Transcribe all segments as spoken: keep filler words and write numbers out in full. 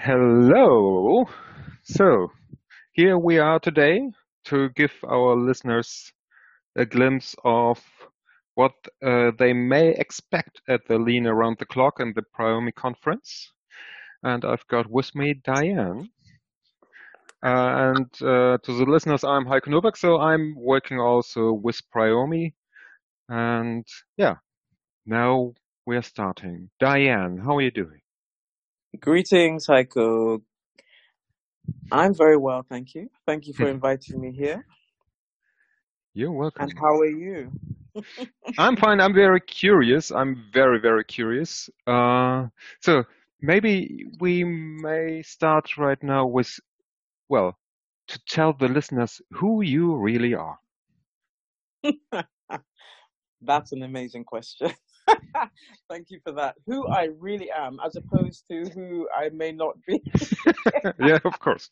Hello. So, here we are today to give our listeners a glimpse of what uh, they may expect at the Lean Around the Clock and the Priomi conference. And I've got with me Diane. Uh, and uh, to the listeners, I'm Heiko Nowak, so I'm working also with Priomi. And yeah, now we're starting. Diane, how are you doing? Greetings, Heiko. I'm very well, thank you. Thank you for inviting me here. You're welcome. And how are you? I'm fine. I'm very curious. I'm very, very curious. Uh, so maybe we may start right now with, well, to tell the listeners who you really are. That's an amazing question. Thank you for that. Who I really am, as opposed to who I may not be. Yeah, of course.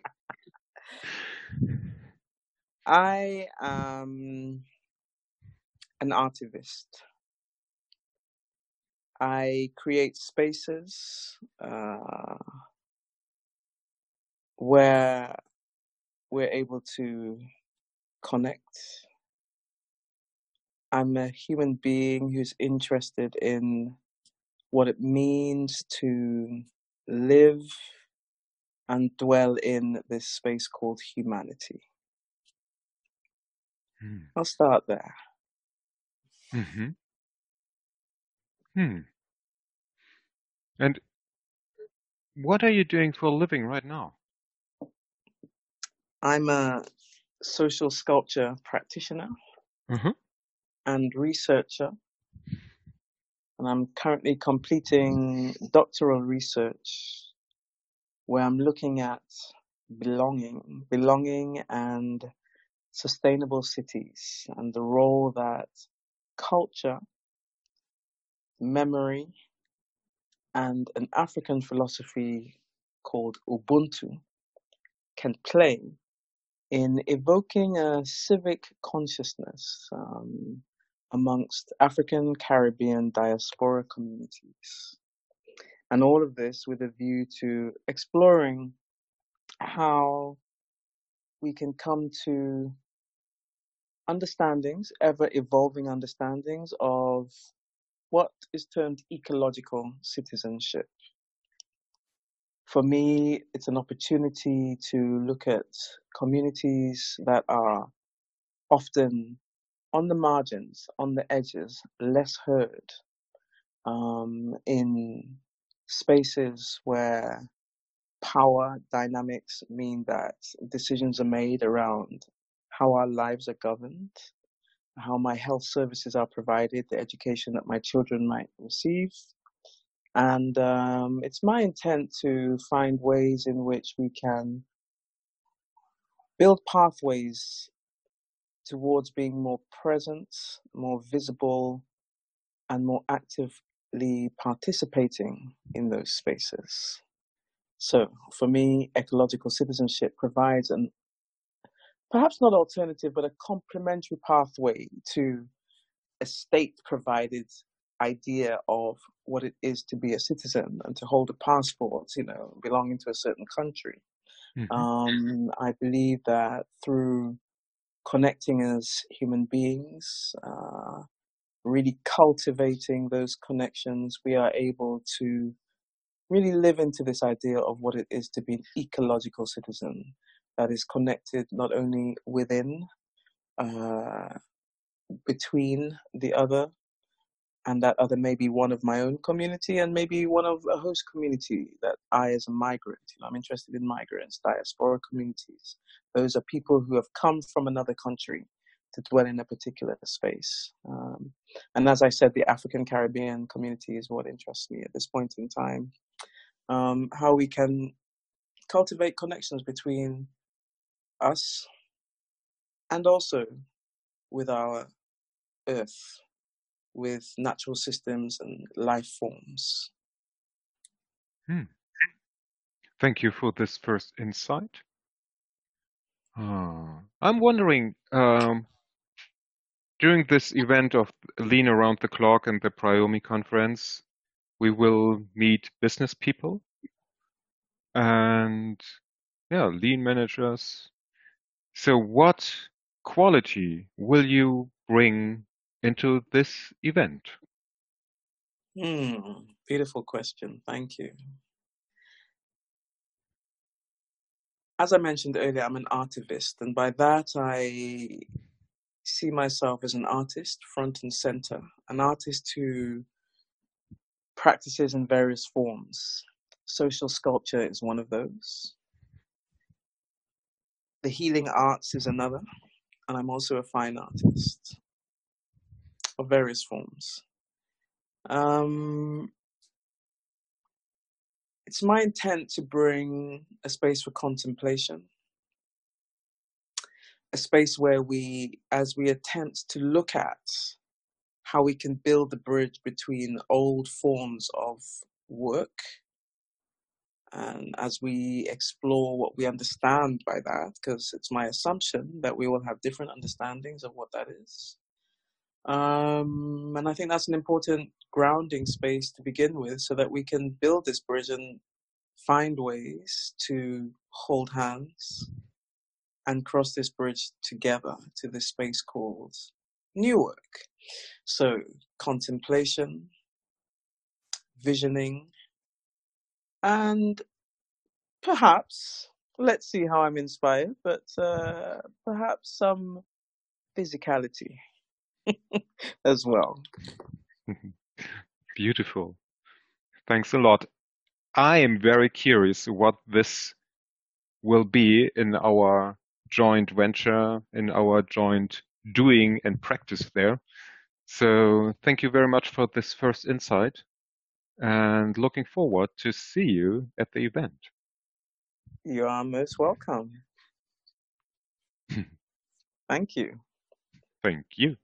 I am an artivist. I create spaces uh, where we're able to connect. I'm a human being who's interested in what it means to live and dwell in this space called humanity. Hmm. I'll start there. Mm-hmm. Hmm. And what are you doing for a living right now? I'm a social sculpture practitioner Mm-hmm. and researcher, and I'm currently completing doctoral research where I'm looking at belonging, belonging and sustainable cities, and the role that culture, memory, and an African philosophy called Ubuntu can play in evoking a civic consciousness um, amongst African Caribbean diaspora communities. And all of this with a view to exploring how we can come to understandings, ever evolving understandings of what is termed ecological citizenship. For me, it's an opportunity to look at communities that are often on the margins, on the edges, less heard, um, in spaces where power dynamics mean that decisions are made around how our lives are governed, how my health services are provided, the education that my children might receive. And um, it's my intent to find ways in which we can build pathways towards being more present, more visible, and more actively participating in those spaces. So for me, ecological citizenship provides an perhaps not alternative, but a complementary pathway to a state provided idea of what it is to be a citizen and to hold a passport, you know, belonging to a certain country. Mm-hmm. Um, I believe that through connecting as human beings, uh, really cultivating those connections, we are able to really live into this idea of what it is to be an ecological citizen that is connected not only within, uh, between the other, and that other may be one of my own community and maybe one of a host community that I, as a migrant, you know, I'm interested in migrants, diaspora communities. Those are people who have come from another country to dwell in a particular space. Um, and as I said, the African Caribbean community is what interests me at this point in time. Um, how we can cultivate connections between us and also with our earth, with natural systems and life forms. Hmm. Thank you for this first insight. Uh, I'm wondering, um, during this event of Lean Around the Clock and the Priomi conference, we will meet business people. and yeah, lean managers. So what quality will you bring into this event? Hmm, beautiful question. Thank you. As I mentioned earlier, I'm an artivist, and by that I see myself as an artist front and center, an artist who practices in various forms. Social sculpture is one of those. The healing arts is another, and I'm also a fine artist of various forms. Um, it's my intent to bring a space for contemplation, a space where we, as we attempt to look at how we can build the bridge between old forms of work, and as we explore what we understand by that, because it's my assumption that we will have different understandings of what that is. Um, and I think that's an important grounding space to begin with so that we can build this bridge and find ways to hold hands and cross this bridge together to this space called new work. So contemplation, visioning, and perhaps, let's see how I'm inspired, but uh, perhaps some physicality as well. Beautiful. Thanks a lot. I am very curious what this will be in our joint venture, in our joint doing and practice there. So thank you very much for this first insight and looking forward to see you at the event. You are most welcome. Thank you. Thank you.